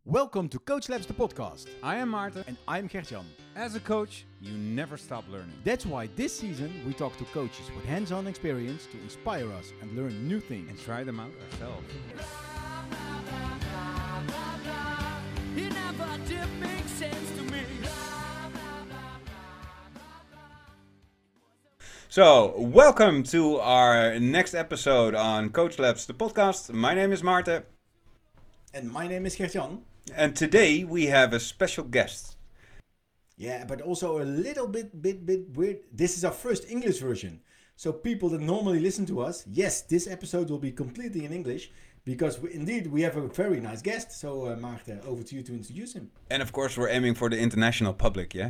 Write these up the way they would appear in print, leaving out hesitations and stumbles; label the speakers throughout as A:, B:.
A: Welcome to Coach Labs, the podcast.
B: I am Maarten.
A: And I'm Gert-Jan.
B: As a coach, you never stop learning.
A: That's why this season we talk to coaches with hands-on experience to inspire us and learn new things.
B: And try them out ourselves.
C: It never did make sense to me.
B: So, welcome to our next episode on Coach Labs, the podcast. My name is Maarten.
A: And my name is Gert-Jan.
B: And today we have a special guest.
A: Yeah, but also a little bit weird. This is our first English version. So people that normally listen to us, yes, this episode will be completely in English. Because we have a very nice guest. So Maarten, over to you to introduce him.
B: And of course we're aiming for the international public, yeah?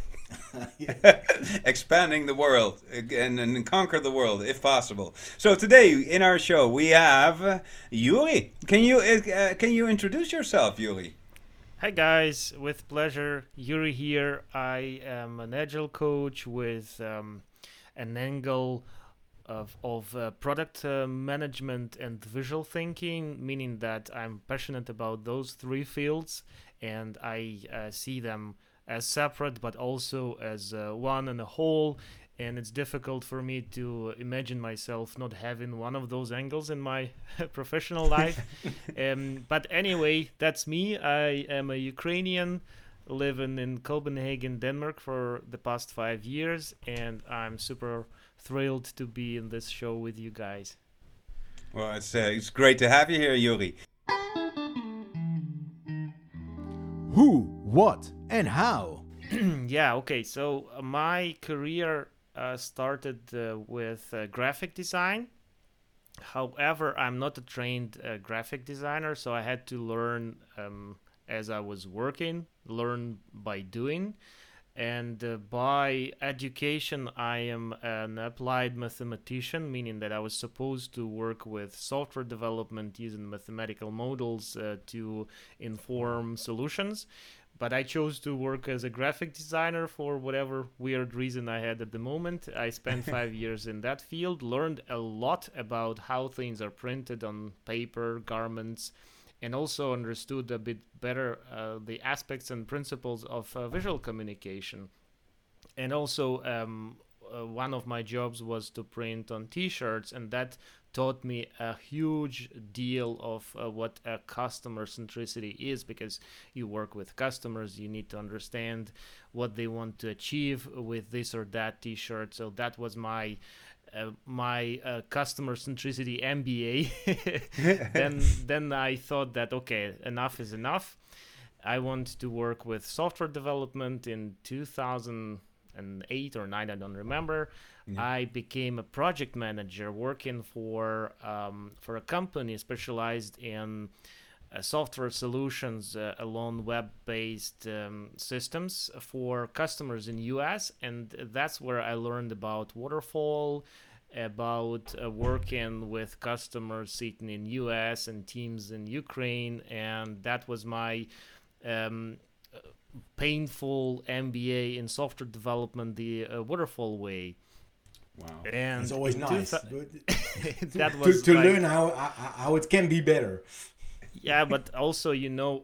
B: Expanding the world and conquer the world if possible. So today in our show we have Yuri. Can you introduce yourself, Yuri?
D: Hi guys, with pleasure. Yuri here. I am an agile coach with an angle of product management and visual thinking, meaning that I'm passionate about those three fields, and I see them as separate but also as one and a whole, and it's difficult for me to imagine myself not having one of those angles in my professional life. But anyway, that's me. I am a Ukrainian living in Copenhagen, Denmark for the past 5 years, and I'm super thrilled to be in this show with you guys.
B: Well, it's great to have you here, Yuri.
A: Who, what, and how?
D: Yeah, okay. So my career started with graphic design. However, I'm not a trained graphic designer, so I had to learn as I was working, learn by doing. And by education, I am an applied mathematician, meaning that I was supposed to work with software development using mathematical models to inform solutions. But I chose to work as a graphic designer for whatever weird reason I had at the moment. I spent 5 years in that field, learned a lot about how things are printed on paper, garments, and also understood a bit better the aspects and principles of visual communication. And also one of my jobs was to print on t-shirts, and that taught me a huge deal of what a customer centricity is, because you work with customers, you need to understand what they want to achieve with this or that t-shirt. So that was my customer centricity MBA. then I thought that, okay, enough is enough. I want to work with software development. In 2008 or 9, I don't remember. Yeah. I became a project manager working for a company specialized in software solutions along web-based systems for customers in US, and that's where I learned about waterfall, about working with customers sitting in US and teams in Ukraine, and that was my painful MBA in software development, the waterfall way.
B: Wow,
A: and it's always nice
D: that was
A: to learn how it can be better.
D: Yeah, but also, you know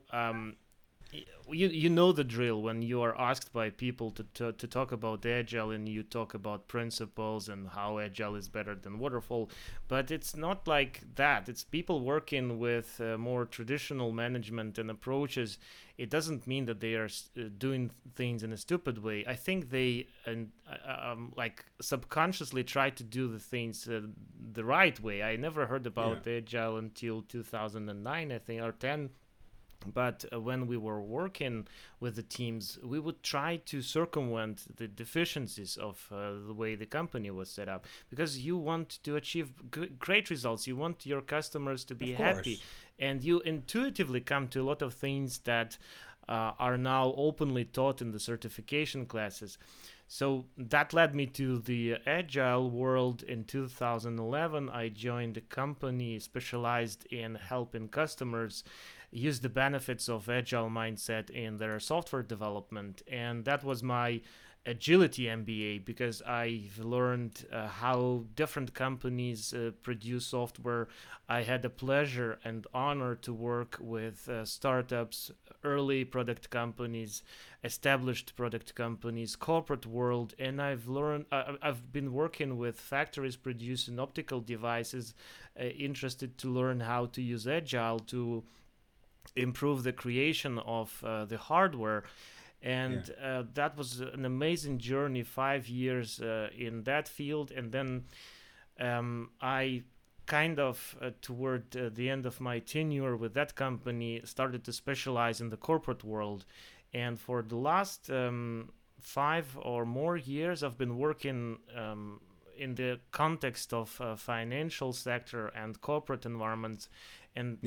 D: the drill when you are asked by people to talk about agile, and you talk about principles and how agile is better than waterfall, but it's not like that. It's people working with more traditional management and approaches. It doesn't mean that they are doing things in a stupid way. I think they like subconsciously try to do the things the right way. I never heard about agile until 2009, I think, or 10. But when we were working with the teams, we would try to circumvent the deficiencies of the way the company was set up, because you want to achieve great results. You want your customers to be happy, and you intuitively come to a lot of things that are now openly taught in the certification classes. So that led me to the agile world. In 2011, I joined a company specialized in helping customers use the benefits of agile mindset in their software development, and that was my agility MBA because I've learned how different companies produce software. I had the pleasure and honor to work with startups, early product companies, established product companies, corporate world, and I've been working with factories producing optical devices, interested to learn how to use Agile to improve the creation of the hardware. And that was an amazing journey, 5 years in that field. And then I kind of toward the end of my tenure with that company started to specialize in the corporate world. And for the last 5 or more years I've been working in the context of financial sector and corporate environments, and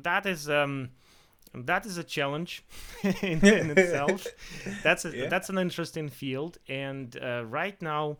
D: that is a challenge in itself. That's an interesting field, and right now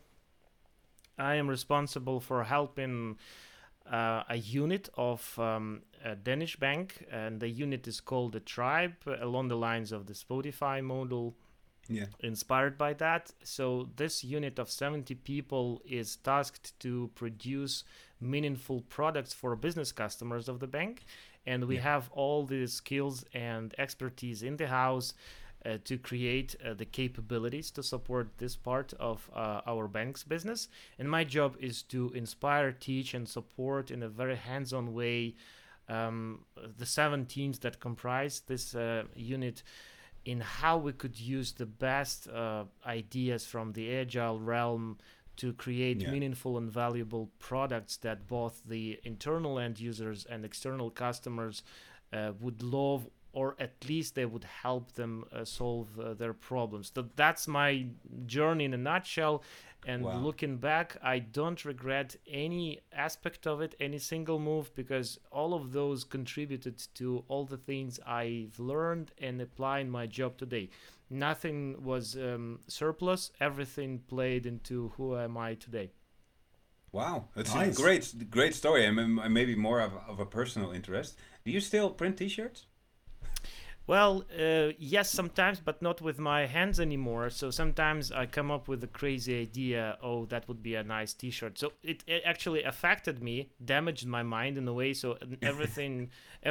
D: I am responsible for helping a unit of a Danish bank, and the unit is called the Tribe, along the lines of the Spotify model. Inspired by that. So this unit of 70 people is tasked to produce meaningful products for business customers of the bank, and we have all the skills and expertise in the house to create the capabilities to support this part of our bank's business. And my job is to inspire, teach, and support in a very hands-on way the 7 teams that comprise this unit in how we could use the best ideas from the Agile realm to create meaningful and valuable products that both the internal end users and external customers would love, or at least they would help them solve their problems. So that's my journey in a nutshell. And looking back, I don't regret any aspect of it, any single move, because all of those contributed to all the things I've learned and apply in my job today. Nothing was surplus. Everything played into who am I today.
B: Wow, that's
A: Nice.
B: a great story, and maybe more of a personal interest. Do you still print T-shirts?
D: Well, yes, sometimes, but not with my hands anymore. So sometimes I come up with a crazy idea. Oh, that would be a nice T-shirt. So it actually affected me, damaged my mind in a way. So everything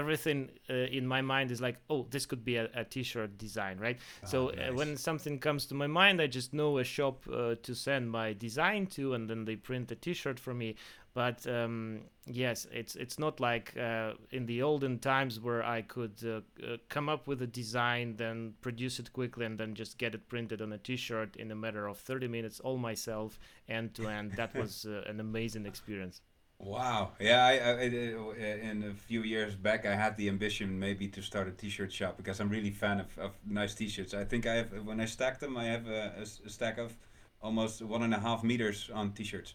D: in my mind is like, oh, this could be a T-shirt design, right? So
B: nice.
D: when something comes to my mind, I just know a shop to send my design to, and then they print a T-shirt for me. But yes, it's not like in the olden times where I could come up with a design, then produce it quickly, and then just get it printed on a T-shirt in a matter of 30 minutes, all myself, end to end. That was an amazing experience.
B: Wow. Yeah, I in a few years back, I had the ambition maybe to start a T-shirt shop because I'm really fan of nice T-shirts. I think I have, when I stack them, I have a stack of almost 1.5 meters on T-shirts.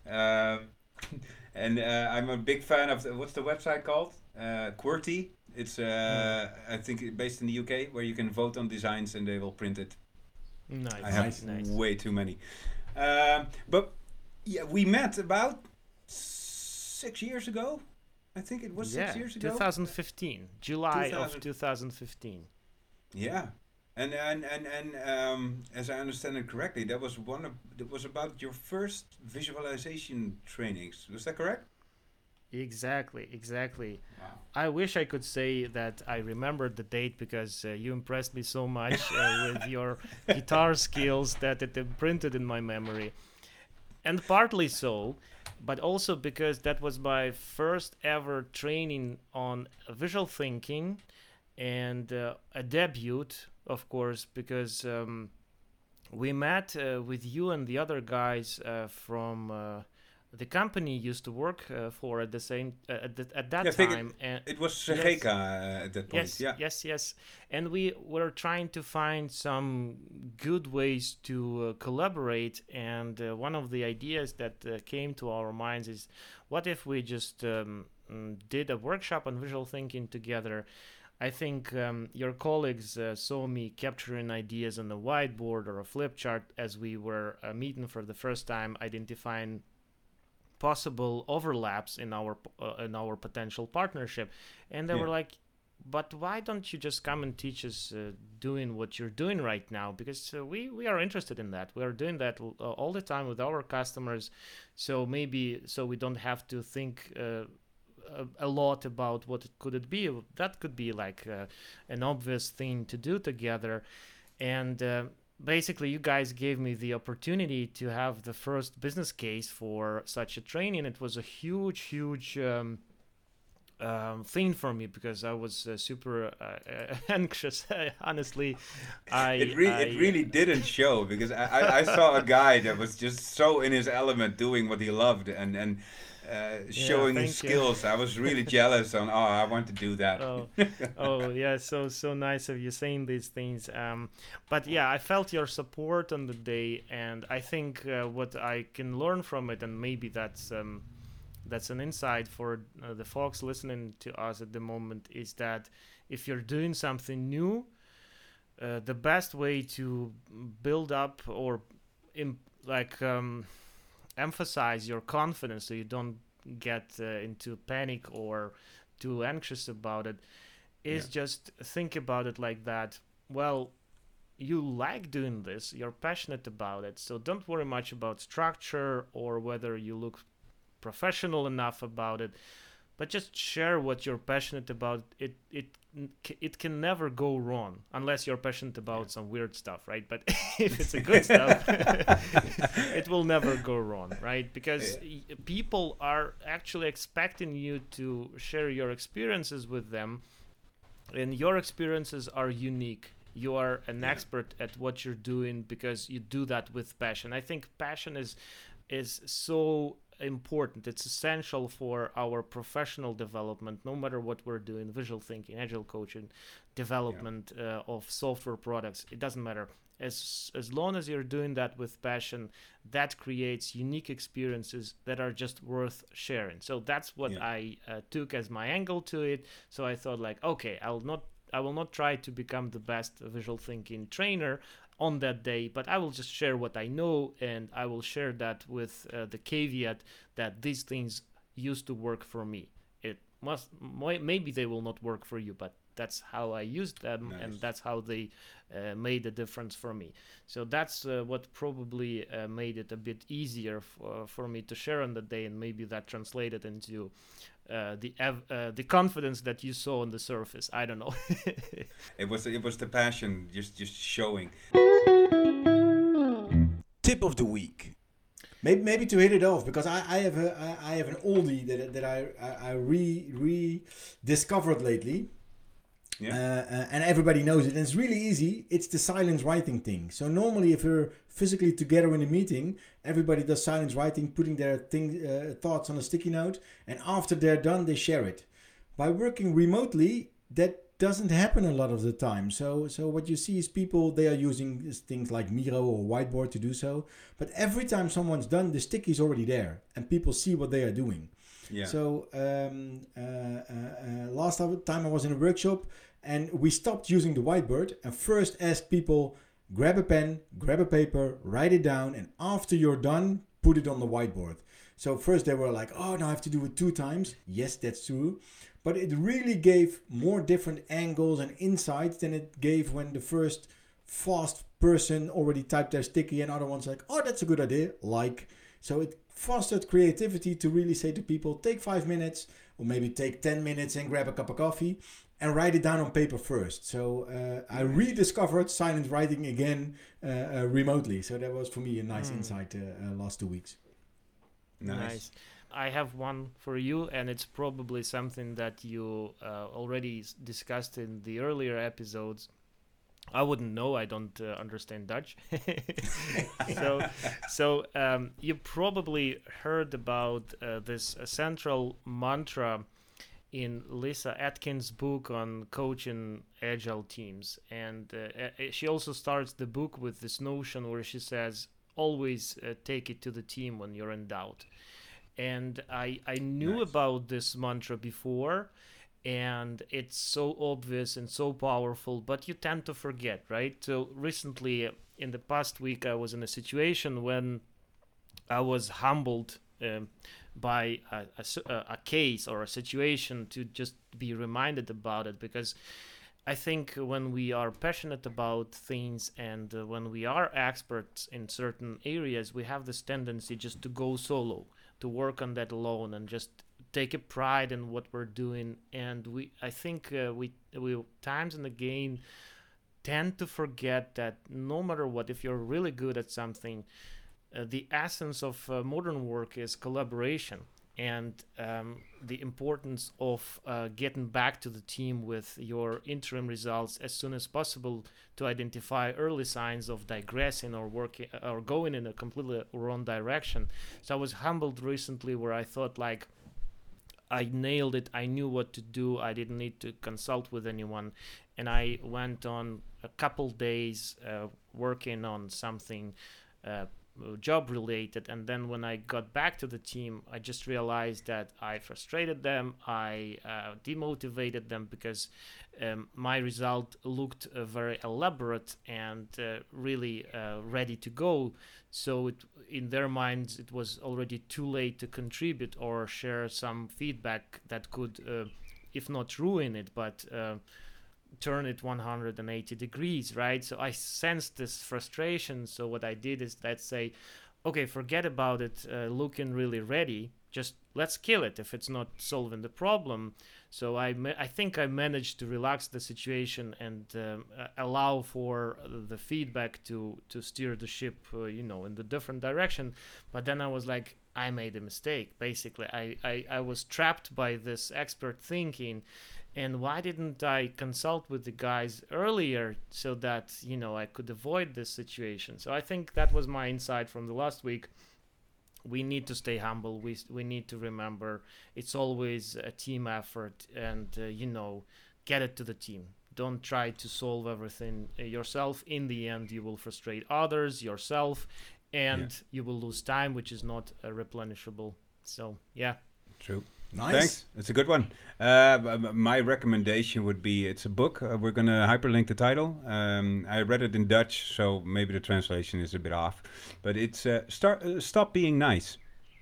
B: And I'm a big fan of what's the website called? QWERTY. It's I think based in the UK, where you can vote on designs and they will print it.
D: Nice.
B: I have
D: nice.
B: way too many. But yeah, we met about 6 years ago. I think it was 6 years ago.
D: 2015, July of 2015.
B: Yeah. And as I understand it correctly, that was about your first visualization trainings. Was that correct?
D: Exactly.
B: Wow.
D: I wish I could say that I remembered the date because you impressed me so much with your guitar skills that it imprinted in my memory. And partly so, but also because that was my first ever training on visual thinking and a debut, of course, because we met with you and the other guys from the company you used to work for at the same at that time. And
B: it was Segeka at that point.
D: Yes. And we were trying to find some good ways to collaborate. And one of the ideas that came to our minds is, what if we just did a workshop on visual thinking together? I think your colleagues saw me capturing ideas on a whiteboard or a flip chart as we were meeting for the first time, identifying possible overlaps in our potential partnership, and they were like, but why don't you just come and teach us doing what you're doing right now? Because we are interested in that. We are doing that all the time with our customers. So maybe so we don't have to think a lot about what could it be. That could be like an obvious thing to do together. And basically, you guys gave me the opportunity to have the first business case for such a training. It was a huge thing for me because I was super anxious. Honestly,
B: It really didn't show because I saw a guy that was just so in his element doing what he loved and showing his
D: thank you.
B: skills. I was really jealous on, I want to do that.
D: Oh yeah, so nice of you saying these things. But yeah, I felt your support on the day, and I think what I can learn from it, and maybe that's an insight for the folks listening to us at the moment, is that if you're doing something new, the best way to build up or emphasize your confidence so you don't get into panic or too anxious about it is just think about it like that. Well, you like doing this, you're passionate about it, so don't worry much about structure or whether you look professional enough about it, but just share what you're passionate about. It can never go wrong unless you're passionate about some weird stuff, right? But if it's a good stuff, it will never go wrong, right? Because people are actually expecting you to share your experiences with them, and your experiences are unique. You are an expert at what you're doing because you do that with passion. I think passion is so important. It's essential for our professional development, no matter what we're doing: visual thinking, agile coaching, development of software products. It doesn't matter. As long as you're doing that with passion, that creates unique experiences that are just worth sharing. So that's what I took as my angle to it. So I thought, like, okay, I will not try to become the best visual thinking trainer on that day, but I will just share what I know, and I will share that with the caveat that these things used to work for me. It maybe they will not work for you, but that's how I used them, and that's how they made a difference for me. So that's what probably made it a bit easier for me to share on the day, and maybe that translated into the confidence that you saw on the surface. I don't know.
B: It was the passion just showing.
A: Tip of the week. Maybe to hit it off, because I have an oldie that I rediscovered lately. And everybody knows it, and it's really easy. It's the silence writing thing. So normally, if you're physically together in a meeting, everybody does silence writing, putting their thoughts on a sticky note, and after they're done, they share it. By working remotely, that doesn't happen a lot of the time. So what you see is people, they are using things like Miro or Whiteboard to do so, but every time someone's done, the sticky is already there, and people see what they are doing. Yeah. So last time I was in a workshop, and we stopped using the whiteboard and first asked people, grab a pen, grab a paper, write it down, and after you're done, put it on the whiteboard. So first they were like, oh, now I have to do it 2 times. Yes, that's true. But it really gave more different angles and insights than it gave when the first fast person already typed their sticky and other ones like, oh, that's a good idea. So it fostered creativity to really say to people, take 5 minutes or maybe take 10 minutes and grab a cup of coffee and write it down on paper first. So I rediscovered silent writing again remotely. So that was for me a nice insight last 2 weeks.
D: Nice. I have one for you, and it's probably something that you already discussed in the earlier episodes. I wouldn't know. I don't understand Dutch. So you probably heard about this central mantra in Lisa Atkins' book on coaching agile teams. And she also starts the book with this notion where she says, always take it to the team when you're in doubt. And I knew about this mantra before, and it's so obvious and so powerful, but you tend to forget, right? So recently, in the past week, I was in a situation when I was humbled by a case or a situation to just be reminded about it. Because I think when we are passionate about things and when we are experts in certain areas, we have this tendency just to go solo, to work on that alone, and just take a pride in what we're doing. And I think we times and again tend to forget that no matter what, if you're really good at something, the essence of modern work is collaboration, and the importance of getting back to the team with your interim results as soon as possible to identify early signs of digressing or working or going in a completely wrong direction. So I was humbled recently where I thought like I nailed it. I knew what to do. I didn't need to consult with anyone, and I went on a couple days working on something job related, and then when I got back to the team, I just realized that I frustrated them, I demotivated them, because my result looked very elaborate and really ready to go. So in their minds it was already too late to contribute or share some feedback that could if not ruin it, but turn it 180 degrees, right? So I sensed this frustration. So what I did is, let's say, okay, forget about it looking really ready. Just let's kill it if it's not solving the problem. So I think I managed to relax the situation and allow for the feedback to steer the ship, in the different direction. But then I was like, I made a mistake. Basically, I was trapped by this expert thinking. And why didn't I consult with the guys earlier so that, I could avoid this situation? So I think that was my insight from the last week. We need to stay humble. We need to remember it's always a team effort, and, get it to the team. Don't try to solve everything yourself. In the end, you will frustrate others, yourself, and you will lose time, which is not replenishable. So, yeah.
B: True.
A: Nice.
B: Thanks. It's a good one. My recommendation would be, it's a book. We're going to hyperlink the title. I read it in Dutch, so maybe the translation is a bit off. But it's Stop Being Nice.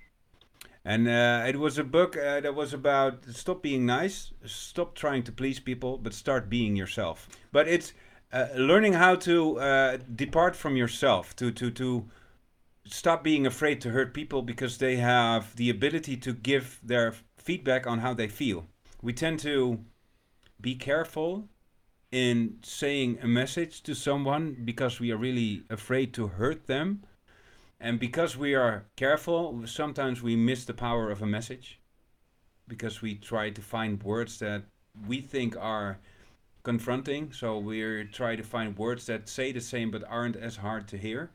B: And it was a book that was about stop being nice, stop trying to please people, but start being yourself. But it's learning how to depart from yourself, to stop being afraid to hurt people, because they have the ability to give their feedback on how they feel. We tend to be careful in saying a message to someone because we are really afraid to hurt them. And because we are careful, sometimes we miss the power of a message, because we try to find words that we think are confronting. So we try to find words that say the same but aren't as hard to hear.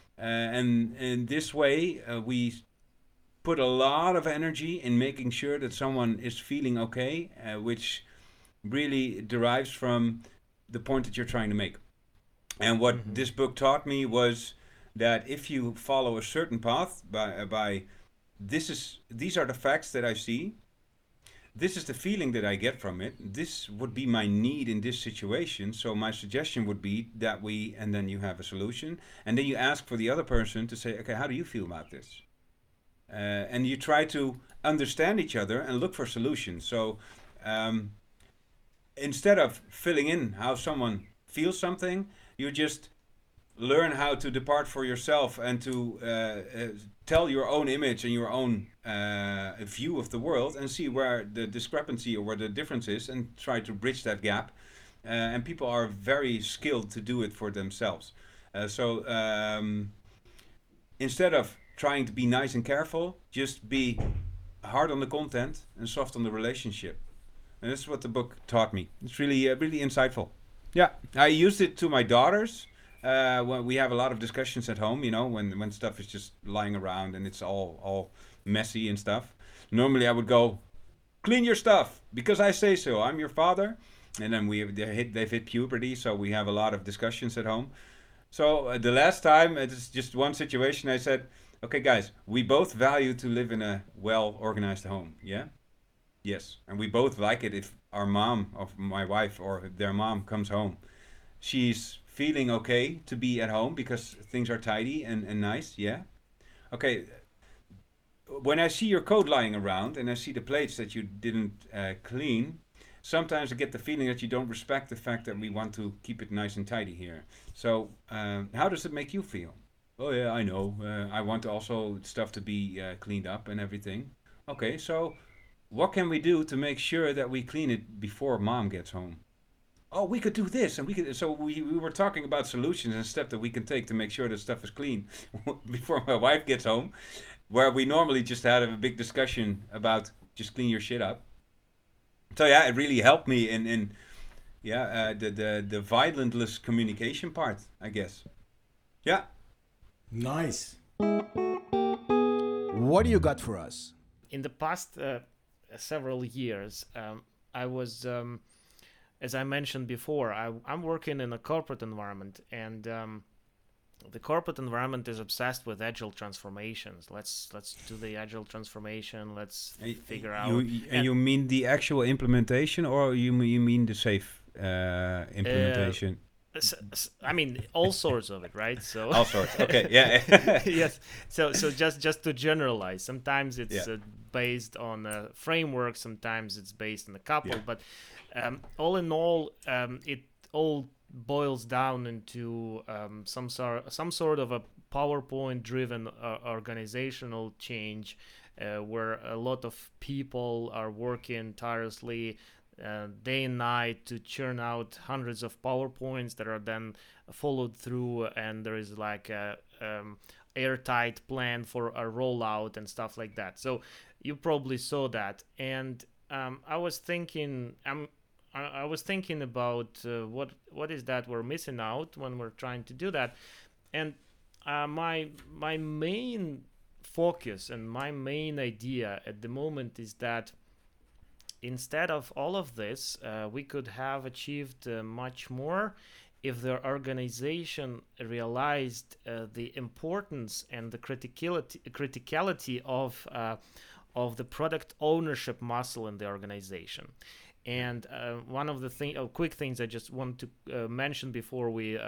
B: And in this way, we put a lot of energy in making sure that someone is feeling okay, which really derives from the point that you're trying to make. And what this book taught me was that if you follow a certain path by these are the facts that I see, this is the feeling that I get from it, this would be my need in this situation, so my suggestion would be that and then you have a solution, and then you ask for the other person to say, okay, how do you feel about this? And you try to understand each other and look for solutions. So instead of filling in how someone feels something, you just learn how to depart for yourself and to tell your own image and your own view of the world, and see where the discrepancy or where the difference is, and try to bridge that gap. And people are very skilled to do it for themselves. So instead of trying to be nice and careful, just be hard on the content and soft on the relationship. And that's what the book taught me. It's really, really insightful. Yeah, I used it to my daughters. When we have a lot of discussions at home, when stuff is just lying around and it's all messy and stuff. Normally I would go, clean your stuff, because I say so. I'm your father. And then they've hit puberty, so we have a lot of discussions at home. So the last time, it's just one situation, I said, okay, guys, we both value to live in a well-organized home, yeah? Yes. And we both like it if our mom, of my wife, or their mom comes home. She's feeling okay to be at home because things are tidy and nice, yeah? Okay, when I see your code lying around and I see the plates that you didn't clean, sometimes I get the feeling that you don't respect the fact that we want to keep it nice and tidy here. So how does it make you feel? Oh yeah, I know. I want also stuff to be cleaned up and everything. Okay, so what can we do to make sure that we clean it before mom gets home? Oh, we could do this, and we could. So we were talking about solutions and steps that we can take to make sure that stuff is clean before my wife gets home, where we normally just had a big discussion about just clean your shit up. So yeah, it really helped me in yeah the violentless communication part, I guess. Yeah.
A: Nice. What do you got for us?
D: In the past several years, I was, as I mentioned before, I'm working in a corporate environment, and the corporate environment is obsessed with agile transformations. Let's do the agile transformation. Let's figure out.
B: You mean the actual implementation, or you mean the safe implementation?
D: I mean, all sorts of it, right? So
B: all sorts. Okay, yeah.
D: Yes. So just to generalize, sometimes it's based on a framework, sometimes it's based on a couple, but all in all, it all boils down into some sort of a PowerPoint-driven organizational change, where a lot of people are working tirelessly day and night to churn out hundreds of PowerPoints that are then followed through, and there is like a airtight plan for a rollout and stuff like that. So you probably saw that, and I was thinking about what is that we're missing out when we're trying to do that, and my main focus and my main idea at the moment is that instead of all of this, we could have achieved much more if the organization realized the importance and the criticality of the product ownership muscle in the organization. And one of the quick things I just want to mention before we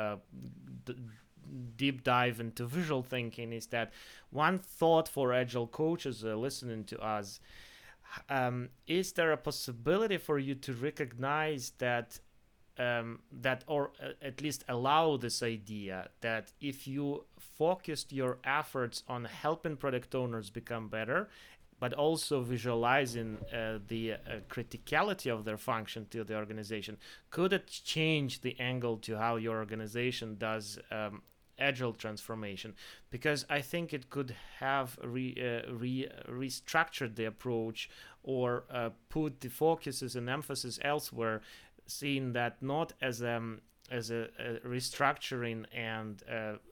D: deep dive into visual thinking is that one thought for agile coaches listening to us. Is there a possibility for you to recognize that or at least allow this idea that if you focused your efforts on helping product owners become better, but also visualizing the criticality of their function to the organization, could it change the angle to how your organization does agile transformation? Because I think it could have restructured the approach or put the focuses and emphasis elsewhere, seeing that not as a restructuring and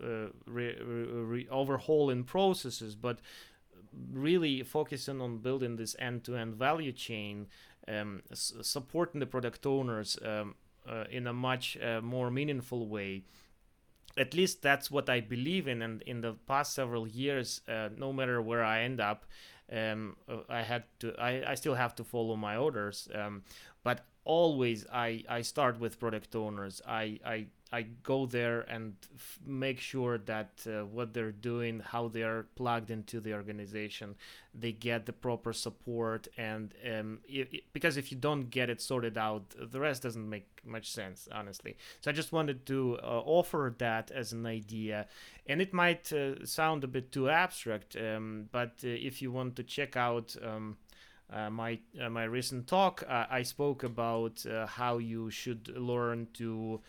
D: overhauling processes, but really focusing on building this end-to-end value chain, supporting the product owners in a much more meaningful way. At least that's what I believe in, and in the past several years, no matter where I end up, I still have to follow my orders, but always I start with product owners. I go there and make sure that what they're doing, how they're plugged into the organization, they get the proper support, and because if you don't get it sorted out, the rest doesn't make much sense, honestly. So I just wanted to offer that as an idea, and it might sound a bit too abstract, but if you want to check out my recent talk, I spoke about how you should learn to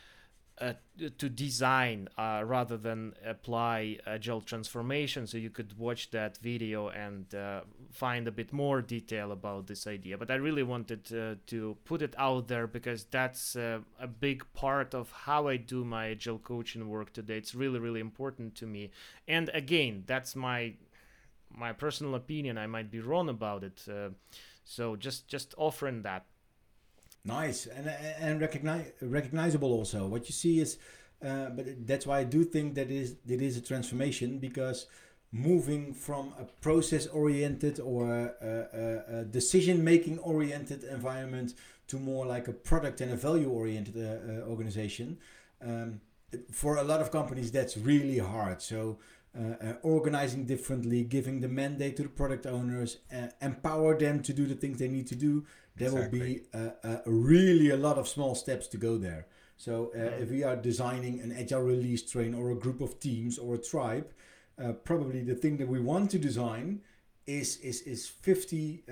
D: design rather than apply agile transformation. So you could watch that video and find a bit more detail about this idea. But I really wanted to put it out there because that's a big part of how I do my agile coaching work today. It's really, really important to me. And again, that's my personal opinion. I might be wrong about it. So just offering that.
A: Nice and recognizable also. What you see is, but that's why I do think that it is a transformation, because moving from a process-oriented or a decision-making oriented environment to more like a product and a value-oriented organization, for a lot of companies that's really hard. So organizing differently, giving the mandate to the product owners, empower them to do the things they need to do. There will be really a lot of small steps to go there. So if we are designing an agile release train or a group of teams or a tribe, probably the thing that we want to design is 50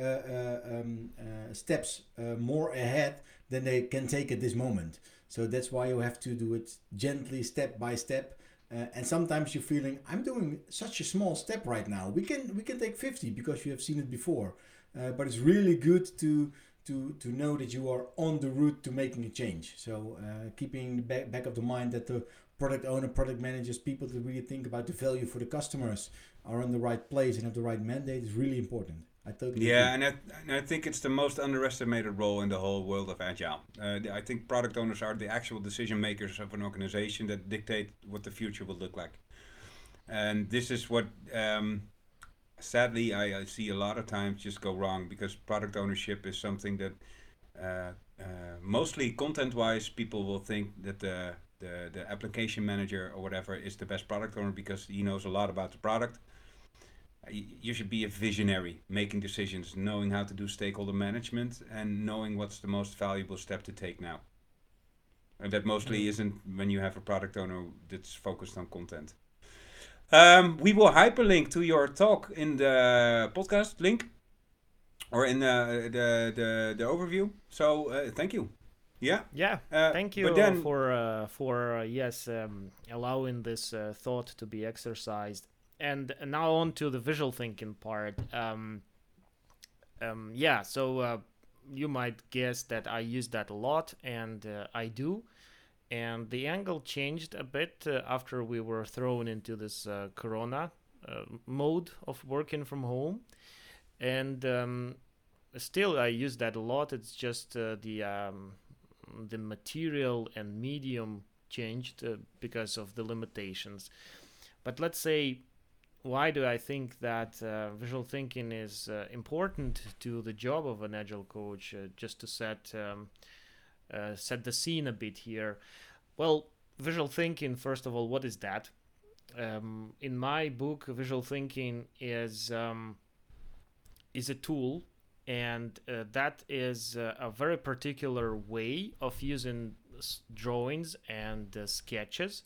A: steps more ahead than they can take at this moment. So that's why you have to do it gently, step by step. And sometimes you're feeling, I'm doing such a small step right now. We can take 50 because you have seen it before. But it's really good to know that you are on the route to making a change. So keeping back of the mind that the product owner, product managers, people that really think about the value for the customers are in the right place and have the right mandate is really important. I totally agree.
B: And I think it's the most underestimated role in the whole world of Agile. I think product owners are the actual decision makers of an organization that dictate what the future will look like. And this is what, sadly, I see a lot of times just go wrong, because product ownership is something that mostly content-wise, people will think that the application manager or whatever is the best product owner because he knows a lot about the product. You should be a visionary, making decisions, knowing how to do stakeholder management, and knowing what's the most valuable step to take now. And that mostly isn't when you have a product owner that's focused on content. We will hyperlink to your talk in the podcast link or in the overview. So thank you. Yeah.
D: Thank you for allowing this thought to be exercised. And now on to the visual thinking part. So you might guess that I use that a lot, and I do. And the angle changed a bit after we were thrown into this corona mode of working from home. And still I use that a lot. It's just the material and medium changed because of the limitations. But let's say, why do I think that visual thinking is important to the job of an agile coach? Just to set the scene a bit here. Well, visual thinking, first of all, what is that? In my book, visual thinking is a tool, and that is a very particular way of using drawings and sketches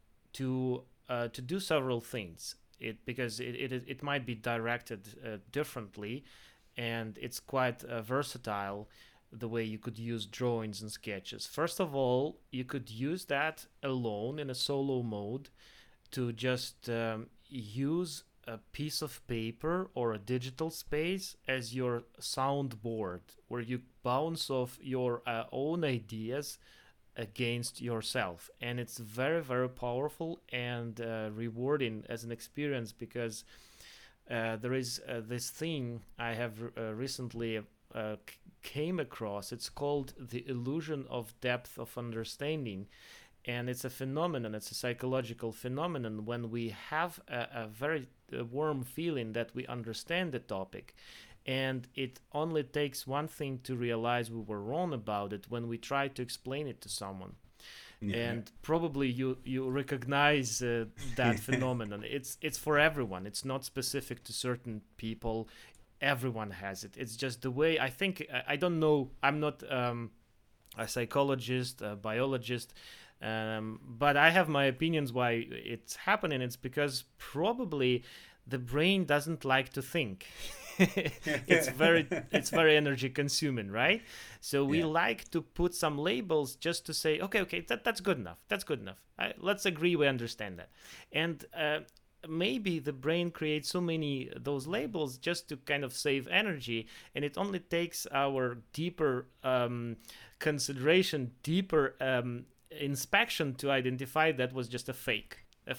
D: to do several things. Because it might be directed differently, and it's quite versatile the way you could use drawings and sketches. First of all, you could use that alone in a solo mode to just use a piece of paper or a digital space as your soundboard, where you bounce off your own ideas against yourself. And it's very, very powerful and rewarding as an experience, because there is this thing I have recently came across. It's called the illusion of depth of understanding. And it's a phenomenon, it's a psychological phenomenon when we have a very warm feeling that we understand the topic. And it only takes one thing to realize we were wrong about it when we try to explain it to someone. Yeah. And probably you recognize that phenomenon. It's for everyone. It's not specific to certain people. Everyone has it. It's just the way, I think, I don't know, I'm not a psychologist, a biologist, but I have my opinions why it's happening. It's because probably the brain doesn't like to think. it's very energy consuming, right? So we like to put some labels just to say, okay, that's good enough. That's good enough. Let's agree we understand that. And maybe the brain creates so many those labels just to kind of save energy, and it only takes our deeper consideration, deeper inspection to identify that was just a fake. A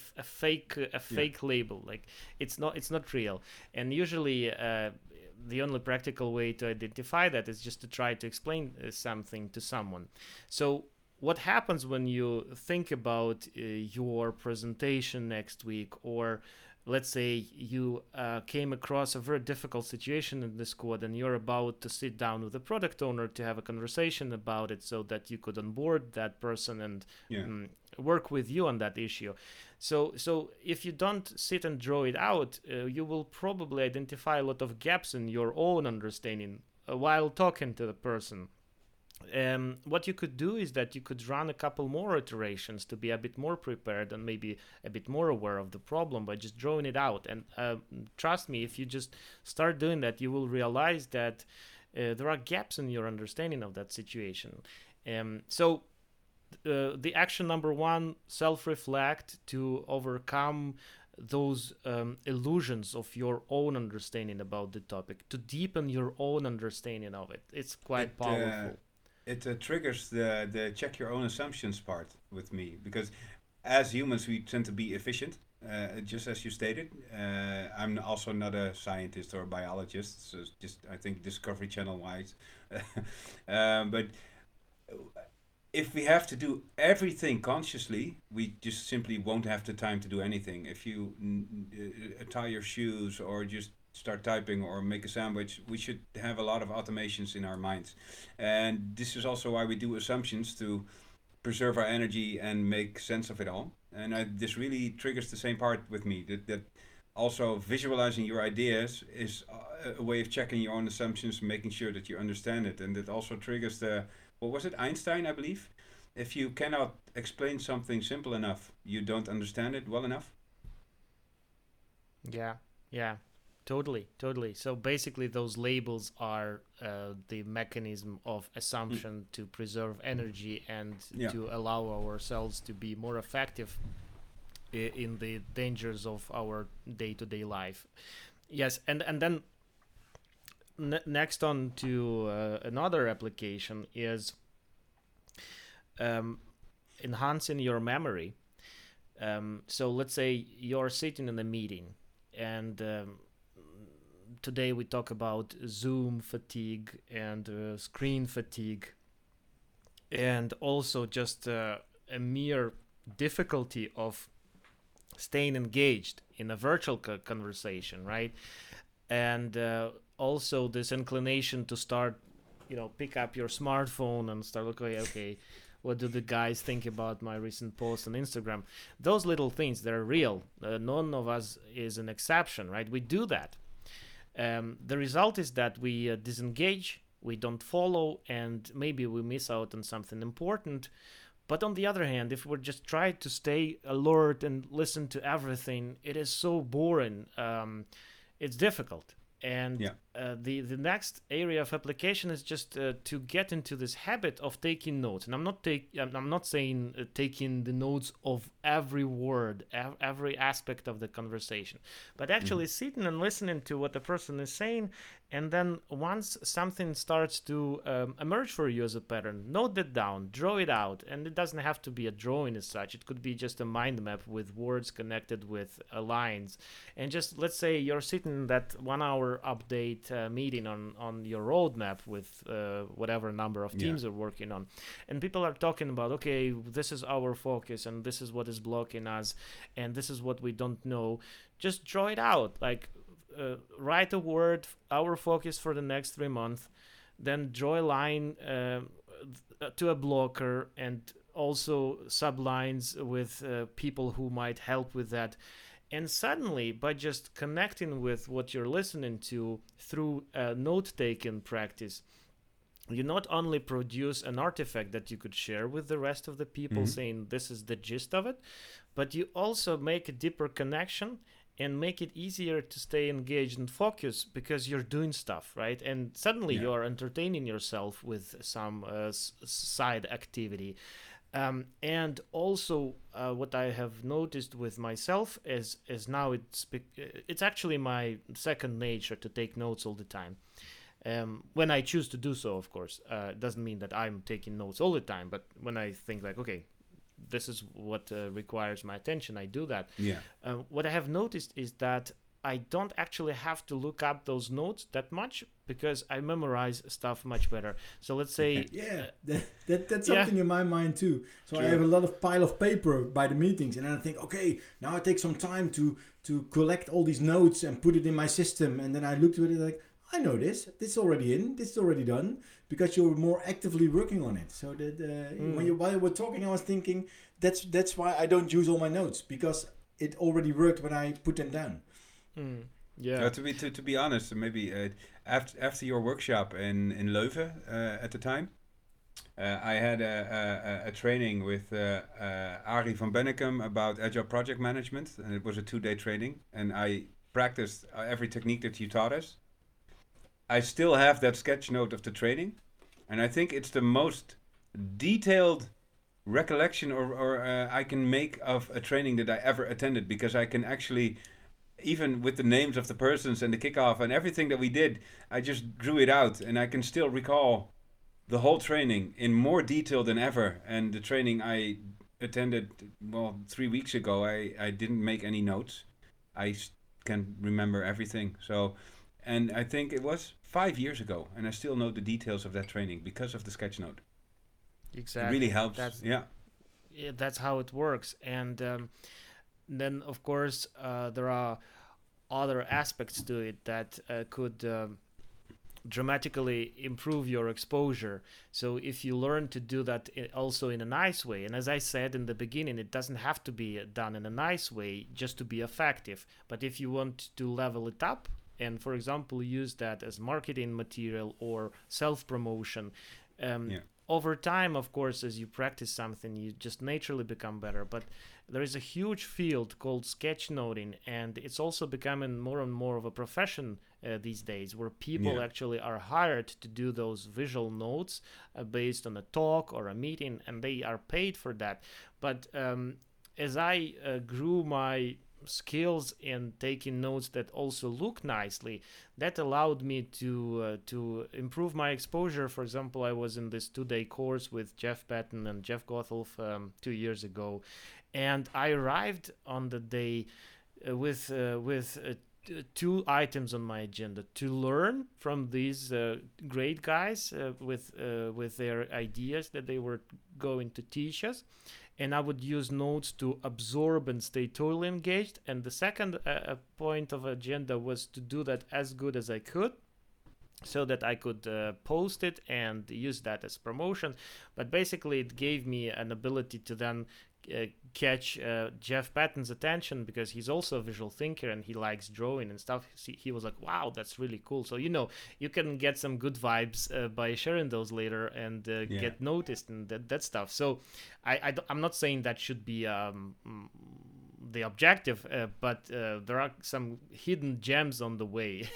D: fake label, like it's not real. And usually the only practical way to identify that is just to try to explain something to someone. So what happens when you think about your presentation next week, or let's say you came across a very difficult situation in this squad and you're about to sit down with the product owner to have a conversation about it so that you could onboard that person and
B: Yeah.
D: work with you on that issue. So if you don't sit and draw it out, you will probably identify a lot of gaps in your own understanding while talking to the person. What you could do is that you could run a couple more iterations to be a bit more prepared and maybe a bit more aware of the problem by just drawing it out. And trust me, if you just start doing that, you will realize that there are gaps in your understanding of that situation. So the action number one, self-reflect to overcome those illusions of your own understanding about the topic, to deepen your own understanding of it. It's quite powerful.
B: It triggers the check your own assumptions part with me, because as humans we tend to be efficient, just as you stated. I'm also not a scientist or a biologist, so just I think Discovery Channel wise. But if we have to do everything consciously, we just simply won't have the time to do anything. If you tie your shoes or just start typing or make a sandwich, we should have a lot of automations in our minds. And this is also why we do assumptions, to preserve our energy and make sense of it all. And this really triggers the same part with me, that also visualizing your ideas is a way of checking your own assumptions, making sure that you understand it. And it also triggers what was it, Einstein, I believe? If you cannot explain something simple enough, you don't understand it well enough.
D: Yeah. Totally. So basically, those labels are the mechanism of assumption to preserve energy and to allow ourselves to be more effective in the dangers of our day-to-day life. Yes, and then next on to another application is enhancing your memory. So let's say you're sitting in a meeting and today we talk about Zoom fatigue and screen fatigue, and also just a mere difficulty of staying engaged in a virtual conversation, right? And also this inclination to start, pick up your smartphone and start looking, okay, what do the guys think about my recent post on Instagram? Those little things, they're real. None of us is an exception, right? We do that. The result is that we disengage, we don't follow, and maybe we miss out on something important. But on the other hand, if we just try to stay alert and listen to everything, it is so boring. It's difficult. And the next area of application is just to get into this habit of taking notes. And I'm not saying taking the notes of every word, every aspect of the conversation, but actually sitting and listening to what the person is saying. And then once something starts to emerge for you as a pattern, note it down, draw it out. And it doesn't have to be a drawing as such. It could be just a mind map with words connected with lines. And just, let's say you're sitting in that 1 hour update meeting on your roadmap with whatever number of teams you're working on. And people are talking about, okay, this is our focus and this is what is blocking us and this is what we don't know. Just draw it out. Like, write a word, our focus for the next 3 months, then draw a line to a blocker and also sublines with people who might help with that. And suddenly, by just connecting with what you're listening to through a note-taking practice, you not only produce an artifact that you could share with the rest of the people saying this is the gist of it, but you also make a deeper connection and make it easier to stay engaged and focused because you're doing stuff, right? And suddenly you are entertaining yourself with some side activity. And also what I have noticed with myself is now it's actually my second nature to take notes all the time. When I choose to do so, of course. It doesn't mean that I'm taking notes all the time, but when I think like, okay, this is what requires my attention, I do that. What I have noticed is that I don't actually have to look up those notes that much because I memorize stuff much better. So let's say
A: Yeah, that's
D: yeah.
A: something in my mind too. So I
B: True.
A: have a lot of pile of paper by the meetings, and then I think, okay, now I take some time to collect all these notes and put it in my system, and then I looked at it like, I know this. This is already in. This is already done because you're more actively working on it. So that while you were talking, I was thinking that's why I don't use all my notes, because it already worked when I put them down.
D: Yeah.
B: To be honest, maybe after your workshop in Leuven at the time, I had a training with Arie van Bennekom about agile project management, and it was a 2-day training, and I practiced every technique that you taught us. I still have that sketch note of the training, and I think it's the most detailed recollection or I can make of a training that I ever attended, because I can actually, even with the names of the persons and the kickoff and everything that we did, I just drew it out, and I can still recall the whole training in more detail than ever. And the training I attended, 3 weeks ago, I didn't make any notes. I can remember everything. So, and I think it was 5 years ago, and I still know the details of that training because of the sketch note.
D: Exactly.
B: It really helps.
D: Yeah, that's how it works. And then, of course, there are other aspects to it that could dramatically improve your exposure. So if you learn to do that also in a nice way, and as I said in the beginning, it doesn't have to be done in a nice way just to be effective. But if you want to level it up and, for example, use that as marketing material or self-promotion, over time, of course, as you practice something, you just naturally become better. But there is a huge field called sketchnoting, and it's also becoming more and more of a profession these days, where people actually are hired to do those visual notes based on a talk or a meeting, and they are paid for that. But as I grew my skills in taking notes that also look nicely, that allowed me to improve my exposure. For example, I was in this 2-day course with Jeff Patton and Jeff Gothelf 2 years ago, and I arrived on the day with 2 items on my agenda: to learn from these great guys with their ideas that they were going to teach us, and I would use notes to absorb and stay totally engaged. And the second point of agenda was to do that as good as I could, so that I could post it and use that as promotion. But basically, it gave me an ability to then catch Jeff Patton's attention, because he's also a visual thinker and he likes drawing and stuff. He was like, wow, that's really cool. So, you can get some good vibes by sharing those later and get noticed and that stuff. So I'm not saying that should be the objective, but there are some hidden gems on the way.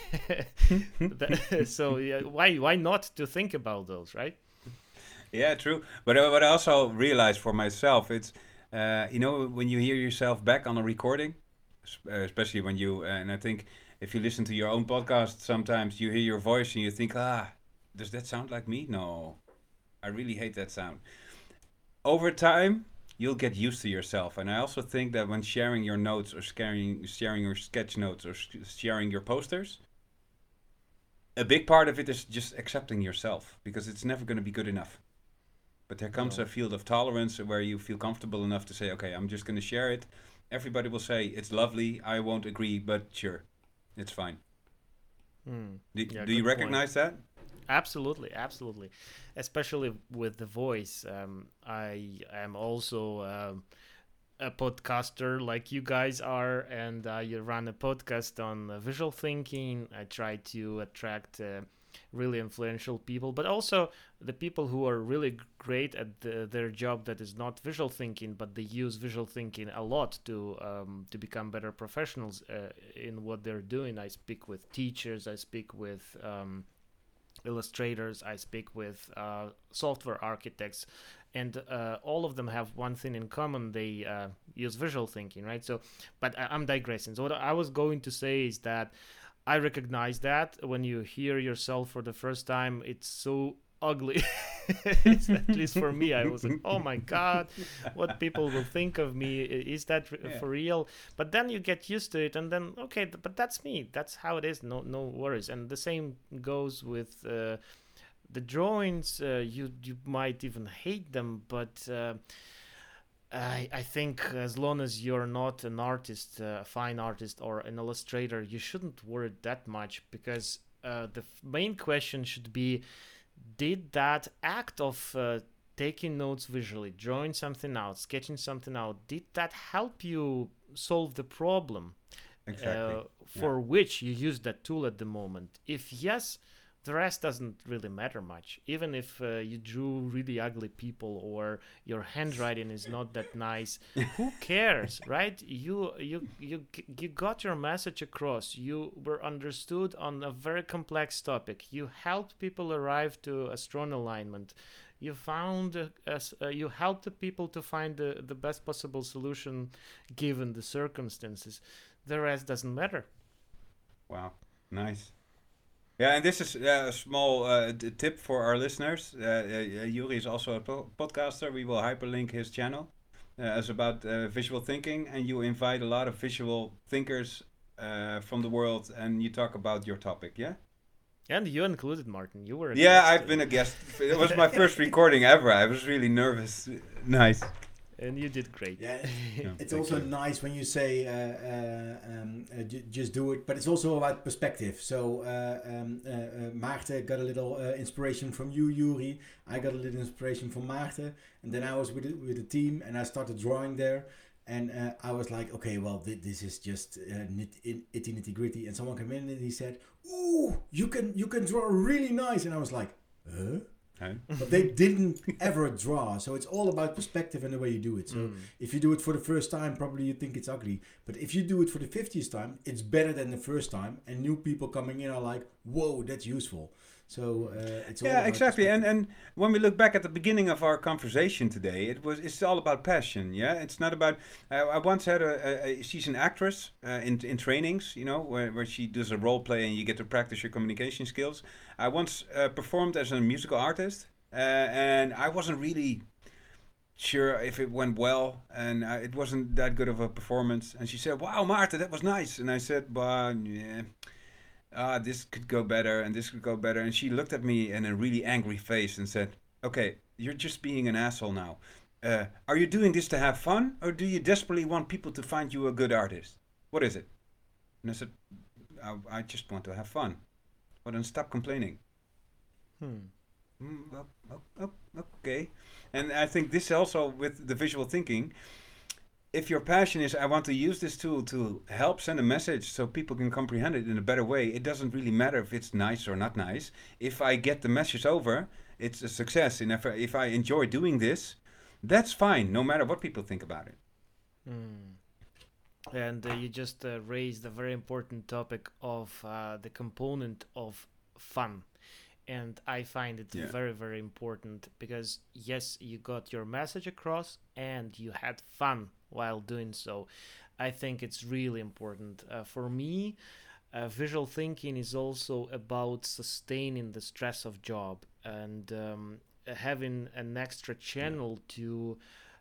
D: So why not to think about those, right?
B: Yeah, true. But what I also realized for myself, it's when you hear yourself back on a recording, especially when you and I think if you listen to your own podcast, sometimes you hear your voice and you think, does that sound like me? No, I really hate that sound. Over time, you'll get used to yourself. And I also think that when sharing your notes or sharing your sketch notes or sharing your posters, a big part of it is just accepting yourself, because it's never going to be good enough. But there comes a field of tolerance where you feel comfortable enough to say, okay, I'm just going to share it. Everybody will say, it's lovely, I won't agree, but sure, it's fine. Do you recognize that?
D: Absolutely. Especially with the voice. I am also a podcaster like you guys are, and I run a podcast on visual thinking. I try to attract really influential people, but also the people who are really great at their job that is not visual thinking, but they use visual thinking a lot to become better professionals in what they're doing. I speak with teachers, I speak with illustrators, I speak with software architects, and all of them have one thing in common: they use visual thinking, right? So, but I'm digressing. So what I was going to say is that I recognize that when you hear yourself for the first time, it's so ugly. At least for me, I was like, oh my god, what people will think of me, is that for real? But then you get used to it, and then okay, but that's me, that's how it is, no worries. And the same goes with the drawings. You might even hate them, but I think as long as you're not an artist, a fine artist or an illustrator, you shouldn't worry that much, because the main question should be, did that act of taking notes visually, drawing something out, sketching something out, did that help you solve the problem
B: Exactly.
D: for which you use that tool at the moment? If yes, the rest doesn't really matter much. Even if you drew really ugly people or your handwriting is not that nice, who cares, right? You got your message across. You were understood on a very complex topic. You helped people arrive to a strong alignment. You found you helped the people to find the best possible solution given the circumstances. The rest doesn't matter.
B: Wow, nice. Yeah, and this is a small tip for our listeners. Yuri is also a podcaster. We will hyperlink his channel as about visual thinking, and you invite a lot of visual thinkers from the world, and you talk about your topic. Yeah.
D: And you included, Martin. You were a
B: Yeah,
D: guest.
B: I've been a guest. It was my first recording ever. I was really nervous. Nice.
D: And you did great.
A: Yeah,
B: Yeah,
A: it's
B: thank
A: also
B: you.
A: nice when you say just do it, but it's also about perspective. So Maarten got a little inspiration from you, Yuri. I got a little inspiration from Maarten, and then I was with the team, and I started drawing there. And I was like, okay, well, this is just nitty gritty. And someone came in and he said, "Ooh, you can draw really nice." And I was like, "Huh?"
B: Huh?
A: But they didn't ever draw. So it's all about perspective and the way you do it. So if you do it for the first time, probably you think it's ugly. But if you do it for the 50th time, it's better than the first time. And new people coming in are like, whoa, that's useful. So it's all
B: Yeah,
A: about
B: exactly.
A: perspective.
B: And when we look back at the beginning of our conversation today, it's all about passion. Yeah, it's not about. I once had she's an actress in trainings, you know, where she does a role play and you get to practice your communication skills. I once performed as a musical artist, and I wasn't really sure if it went well, and it wasn't that good of a performance. And she said, "Wow, Marta, that was nice." And I said, "Well, yeah." This could go better and this could go better. And she looked at me in a really angry face and said, "Okay, you're just being an asshole now. Are you doing this to have fun, or do you desperately want people to find you a good artist? What is it?" And I said, I just want to have fun." "Well, then stop complaining." Okay. And I think this also with the visual thinking, if your passion is, I want to use this tool to help send a message so people can comprehend it in a better way, it doesn't really matter if it's nice or not nice. If I get the message over, it's a success. And if I enjoy doing this, that's fine, no matter what people think about it.
D: And you just raised a very important topic of the component of fun. And I find it very, very important because, yes, you got your message across and you had fun while doing so. I think it's really important. For me, visual thinking is also about sustaining the stress of job and having an extra channel to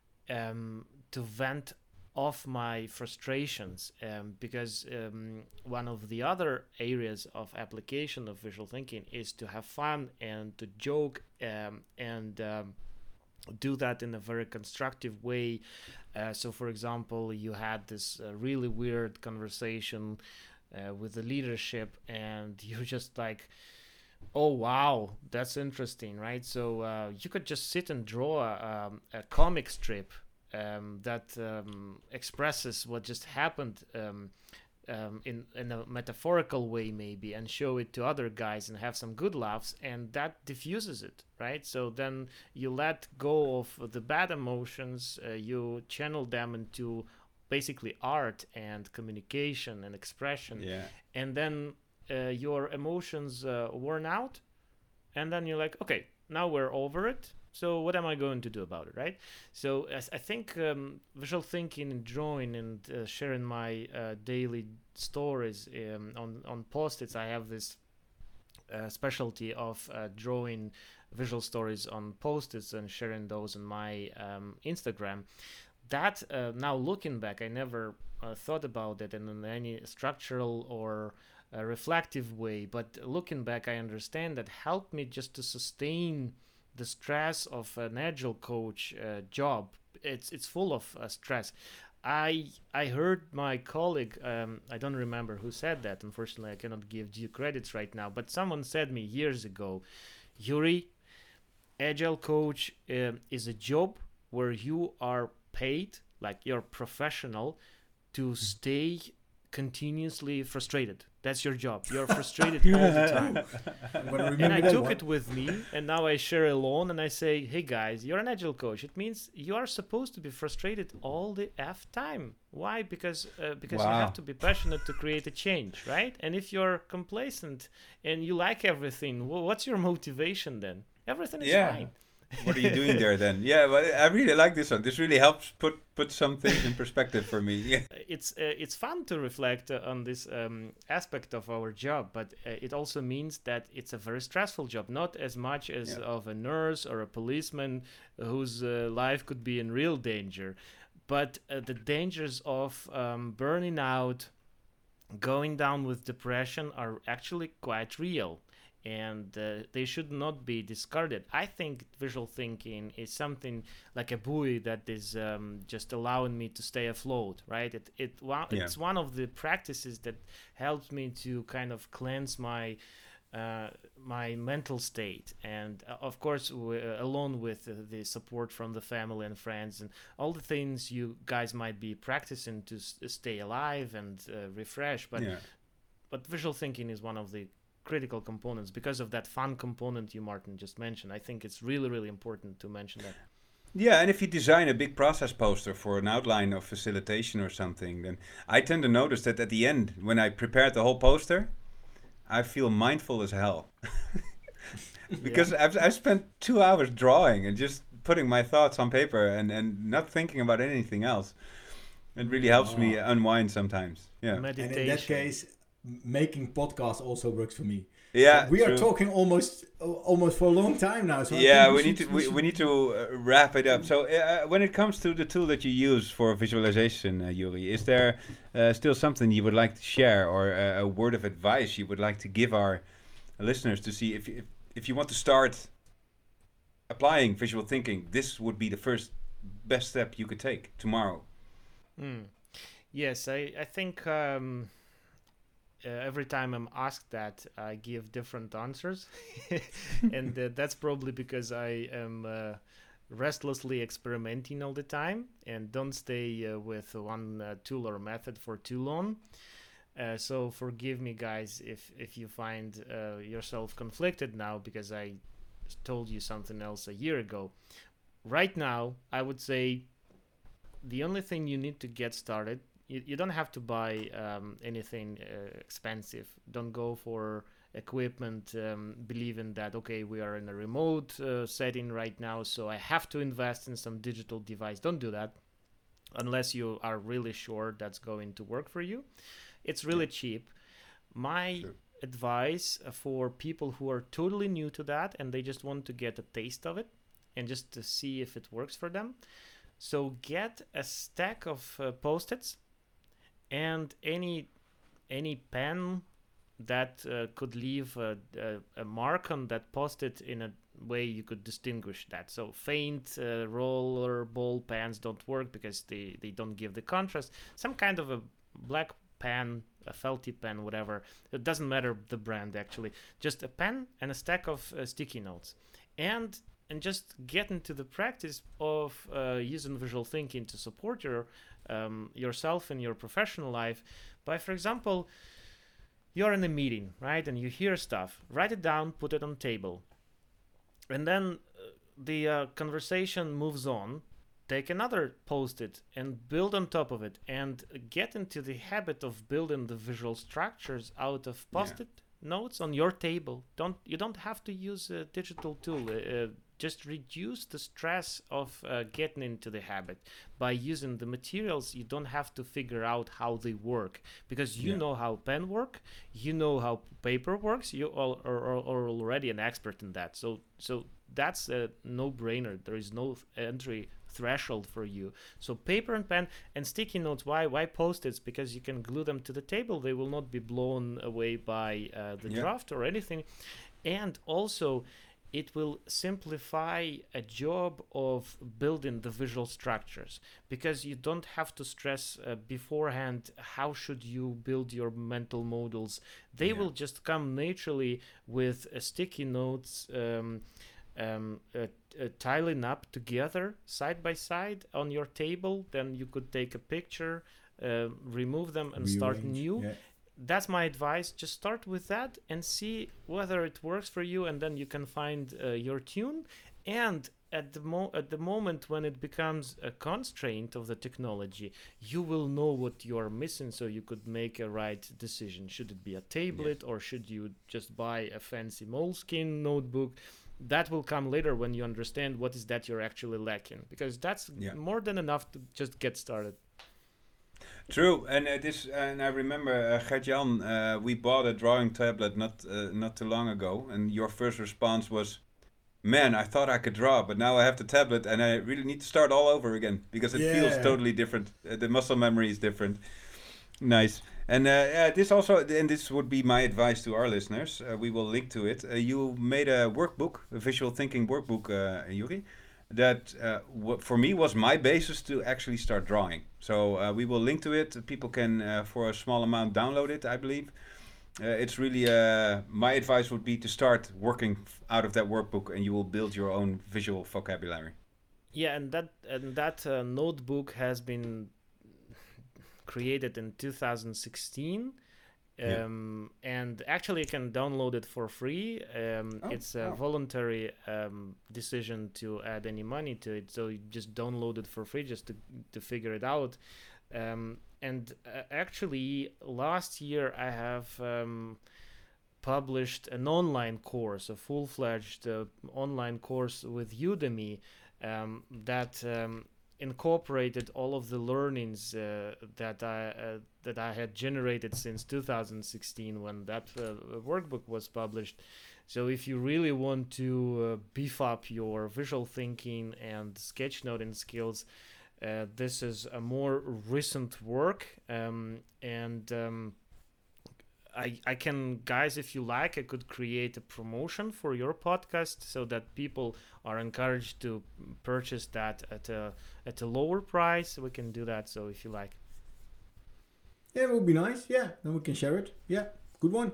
D: vent off my frustrations, because one of the other areas of application of visual thinking is to have fun and to joke and do that in a very constructive way. So for example, you had this really weird conversation with the leadership and you're just like, oh wow, that's interesting, right? So you could just sit and draw a comic strip that expresses what just happened in a metaphorical way maybe, and show it to other guys and have some good laughs, and that diffuses it, right? So then you let go of the bad emotions, you channel them into basically art and communication and expression, and then your emotions worn out, and then you're like, okay, now we're over it. So what am I going to do about it, right? So I think visual thinking and drawing and sharing my daily stories on Post-its, I have this specialty of drawing visual stories on post-its and sharing those on my Instagram. That now looking back, I never thought about it in any structural or reflective way, but looking back, I understand that helped me just to sustain the stress of an agile coach job. It's full of stress. I heard my colleague, I don't remember who said that. Unfortunately, I cannot give due credits right now, but someone said me years ago, Yuri, agile coach is a job where you are paid, like you're professional, to stay continuously frustrated. That's your job. You're frustrated all the time. And I took it with me, and now I share alone, and I say, hey guys, you're an agile coach. It means you are supposed to be frustrated all the time. Why? Because you have to be passionate to create a change, right? And if you're complacent and you like everything, well, what's your motivation then? Everything is fine.
B: What are you doing there then? Yeah, but I really like this one. This really helps put some things in perspective for me. Yeah.
D: It's fun to reflect on this aspect of our job, but it also means that it's a very stressful job, not as much as of a nurse or a policeman whose life could be in real danger, but the dangers of burning out, going down with depression are actually quite real. And they should not be discarded. I think visual thinking is something like a buoy that is just allowing me to stay afloat, right? It's one of the practices that helps me to kind of cleanse my mental state, and of course along with the support from the family and friends and all the things you guys might be practicing to stay alive and refresh. But visual thinking is one of the critical components because of that fun component you, Martin, just mentioned. I think it's really, really important to mention that.
B: Yeah, and if you design a big process poster for an outline of facilitation or something, then I tend to notice that at the end, when I prepared the whole poster, I feel mindful as hell. Because I've spent 2 hours drawing and just putting my thoughts on paper and not thinking about anything else. It really helps me unwind sometimes. Yeah.
D: Meditation.
A: And in that case, making podcasts also works for me.
B: Yeah,
A: we are talking almost for a long time now. So
B: we need to wrap it up. So when it comes to the tool that you use for visualization, Yuri, is there still something you would like to share, or a word of advice you would like to give our listeners to see if you want to start applying visual thinking, this would be the first best step you could take tomorrow?
D: Yes, I think every time I'm asked that, I give different answers. And that's probably because I am restlessly experimenting all the time and don't stay with one tool or method for too long. So forgive me, guys, if you find yourself conflicted now because I told you something else a year ago. Right now, I would say the only thing you need to get started, you don't have to buy anything expensive. Don't go for equipment believing that, okay, we are in a remote setting right now, so I have to invest in some digital device. Don't do that unless you are really sure that's going to work for you. It's really cheap. My advice for people who are totally new to that and they just want to get a taste of it and just to see if it works for them. So get a stack of Post-its and any pen that could leave a mark on that Post-it in a way you could distinguish that. So faint roller ball pens don't work because they don't give the contrast. Some kind of a black pen, a felty pen, whatever. It doesn't matter the brand actually. Just a pen and a stack of sticky notes. And just get into the practice of using visual thinking to support yourself in your professional life by, for example, you're in a meeting, right? And you hear stuff. Write it down, put it on table. And then the conversation moves on. Take another Post-it and build on top of it and get into the habit of building the visual structures out of Post-it notes on your table. You don't have to use a digital tool. just reduce the stress of getting into the habit by using the materials. You don't have to figure out how they work, because you know how pen work, you know how paper works. You all are already an expert in that. So that's a no-brainer. There is no entry threshold for you. So paper and pen and sticky notes. Why post-its? Because you can glue them to the table. They will not be blown away by the draft or anything. And also, it will simplify a job of building the visual structures, because you don't have to stress beforehand how should you build your mental models. They will just come naturally with sticky notes, tiling up together side by side on your table. Then you could take a picture, remove them, and start new. That's my advice. Just start with that and see whether it works for you, and then you can find your tune. And at the moment when it becomes a constraint of the technology, you will know what you are missing, so you could make a right decision. Should it be a tablet, or should you just buy a fancy Moleskine notebook? That will come later when you understand what is that you're actually lacking, because that's more than enough to just get started.
B: True, and and I remember Gert-Jan, we bought a drawing tablet not too long ago, and your first response was, "Man, I thought I could draw, but now I have the tablet, and I really need to start all over again because it feels totally different. The muscle memory is different." Nice, and this also, and this would be my advice to our listeners. We will link to it. You made a workbook, a visual thinking workbook, Yuri, that for me was my basis to actually start drawing. So we will link to it. People can, for a small amount, download it, I believe. It's really, my advice would be to start working out of that workbook, and you will build your own visual vocabulary.
D: Yeah, and that notebook has been created in 2016. And actually you can download it for free. It's a voluntary decision to add any money to it, so you just download it for free just to figure it out. And actually last year I have published an online course, a full-fledged online course with Udemy that incorporated all of the learnings that I had generated since 2016 when that workbook was published. So if you really want to beef up your visual thinking and sketchnoting skills, this is a more recent work, I can, guys, if you like, I could create a promotion for your podcast so that people are encouraged to purchase that at a lower price. We can do that, so if you like.
A: Yeah, it would be nice. Yeah, then we can share it. Yeah, good one.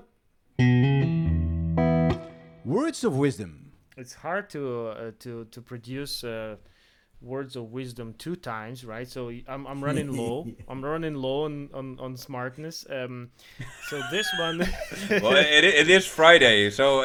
A: Words of wisdom.
D: It's hard to produce words of wisdom 2 times, right? So I'm running low. I'm running low on smartness. So this one.
B: Well, it is Friday, so.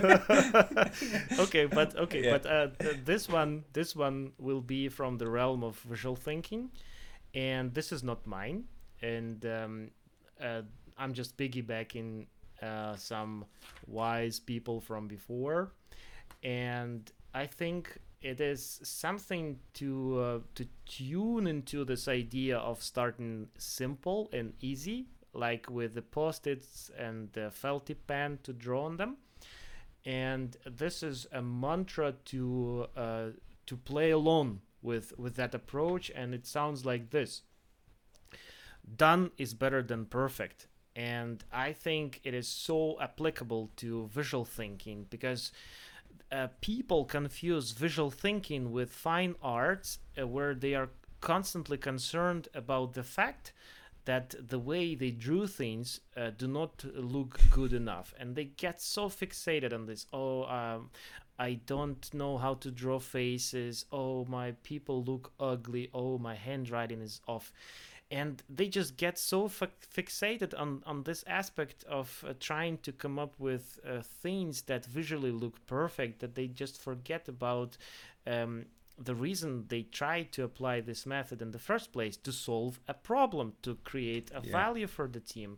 D: But this one will be from the realm of visual thinking, and this is not mine. And I'm just piggybacking some wise people from before, and I think it is something to tune into this idea of starting simple and easy, like with the post-its and the felt tip pen to draw on them. And this is a mantra to play along with that approach, and it sounds like this: done is better than perfect. And I think it is so applicable to visual thinking, because people confuse visual thinking with fine arts, where they are constantly concerned about the fact that the way they drew things do not look good enough, and they get so fixated on this. I don't know how to draw faces. Oh, my people look ugly. Oh, my handwriting is off. And they just get so fixated on this aspect of trying to come up with things that visually look perfect, that they just forget about the reason they try to apply this method in the first place: to solve a problem, to create a value for the team.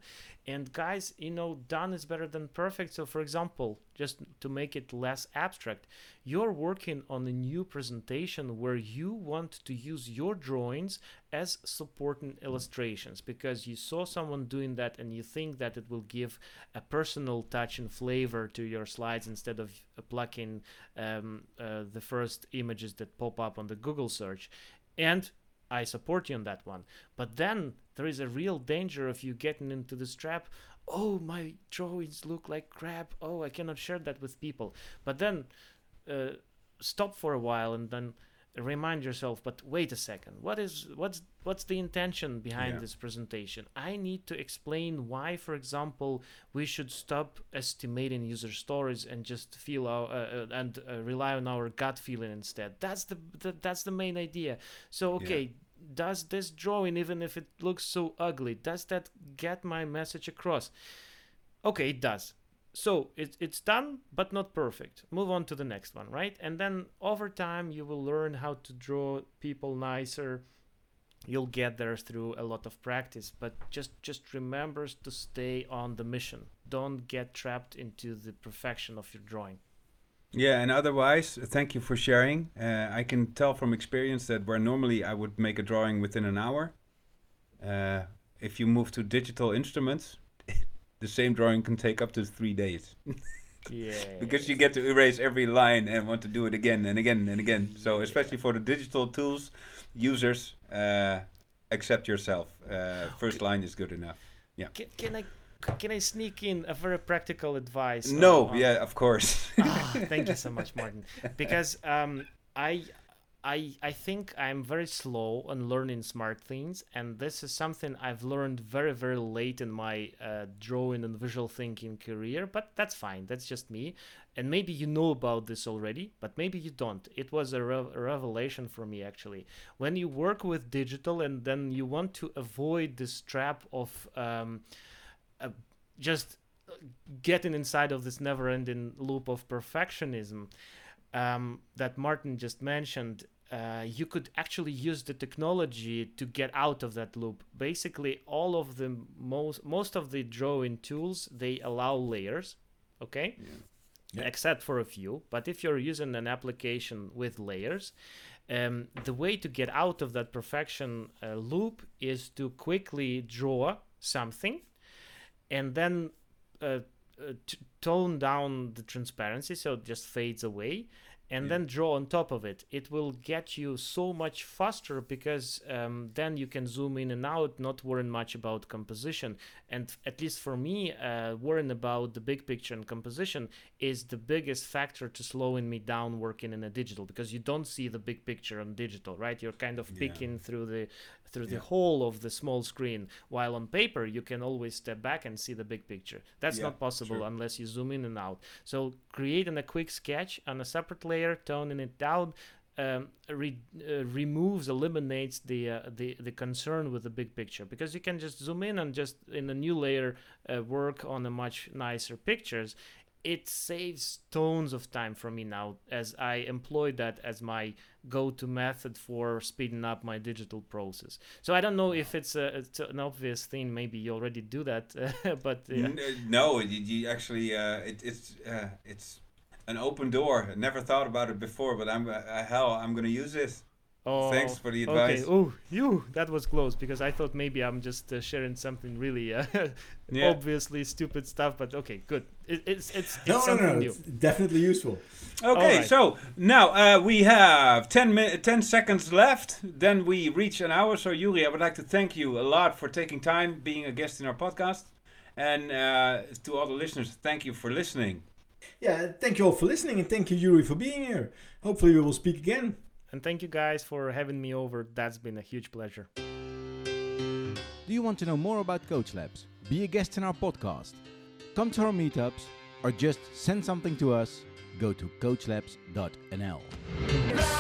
D: And guys, done is better than perfect. So for example, just to make it less abstract, you're working on a new presentation where you want to use your drawings as supporting illustrations because you saw someone doing that and you think that it will give a personal touch and flavor to your slides instead of plucking the first images that pop up on the Google search. And I support you on that one. But then there is a real danger of you getting into this trap. Oh, my drawings look like crap. Oh, I cannot share that with people. But then stop for a while and then remind yourself, but wait a second. What's the intention behind this presentation? I need to explain why, for example, we should stop estimating user stories and just feel rely on our gut feeling instead. That's the main idea. So okay, does this drawing, even if it looks so ugly, does that get my message across? Okay, it does. So it's done, but not perfect. Move on to the next one, right? And then over time, you will learn how to draw people nicer. You'll get there through a lot of practice, but just remember to stay on the mission. Don't get trapped into the perfection of your drawing.
B: Yeah, and otherwise, thank you for sharing. I can tell from experience that where normally I would make a drawing within an hour, if you move to digital instruments, the same drawing can take up to 3 days.
D: Yeah.
B: Because you get to erase every line and want to do it again and again and again. So especially for the digital tools, users, accept yourself. First line is good enough. Yeah.
D: Can I sneak in a very practical advice?
B: No, yeah, of course.
D: Thank you so much, Martin. Because I think I'm very slow on learning smart things, and this is something I've learned very, very late in my drawing and visual thinking career, but that's fine. That's just me. And maybe you know about this already, but maybe you don't. It was a revelation for me, actually. When you work with digital and then you want to avoid this trap of just getting inside of this never-ending loop of perfectionism, that Martin just mentioned, you could actually use the technology to get out of that loop. Basically, all of the most of the drawing tools, they allow layers, okay? Yeah. Except for a few. But if you're using an application with layers, the way to get out of that perfection loop is to quickly draw something and then tone down the transparency so it just fades away, and then draw on top of it. It will get you so much faster because then you can zoom in and out, not worrying much about composition. And at least for me, worrying about the big picture and composition is the biggest factor to slowing me down working in a digital, because you don't see the big picture on digital, right? You're kind of peeking through the whole of the small screen, while on paper you can always step back and see the big picture. That's not possible unless you zoom in and out. So creating a quick sketch on a separate layer, toning it down, eliminates the concern with the big picture, because you can just zoom in and just in a new layer work on a much nicer pictures. It saves tons of time for me now, as I employ that as my go-to method for speeding up my digital process. So I don't know if it's an obvious thing. Maybe you already do that, but
B: no, you actually it's an open door. I never thought about it before, but I'm going to use this. Oh, thanks for the advice.
D: Okay. Oh, that was close, because I thought maybe I'm just sharing something really obviously stupid stuff. But okay, good. It's something new.
A: It's definitely useful.
B: Okay, so now we have 10 seconds left. Then we reach an hour. So Yuri, I would like to thank you a lot for taking time, being a guest in our podcast, and to all the listeners, thank you for listening.
A: Yeah, thank you all for listening, and thank you, Yuri, for being here. Hopefully we will speak again.
D: And thank you guys for having me over. That's been a huge pleasure.
E: Do you want to know more about Coach Labs? Be a guest in our podcast. Come to our meetups or just send something to us. Go to coachlabs.nl.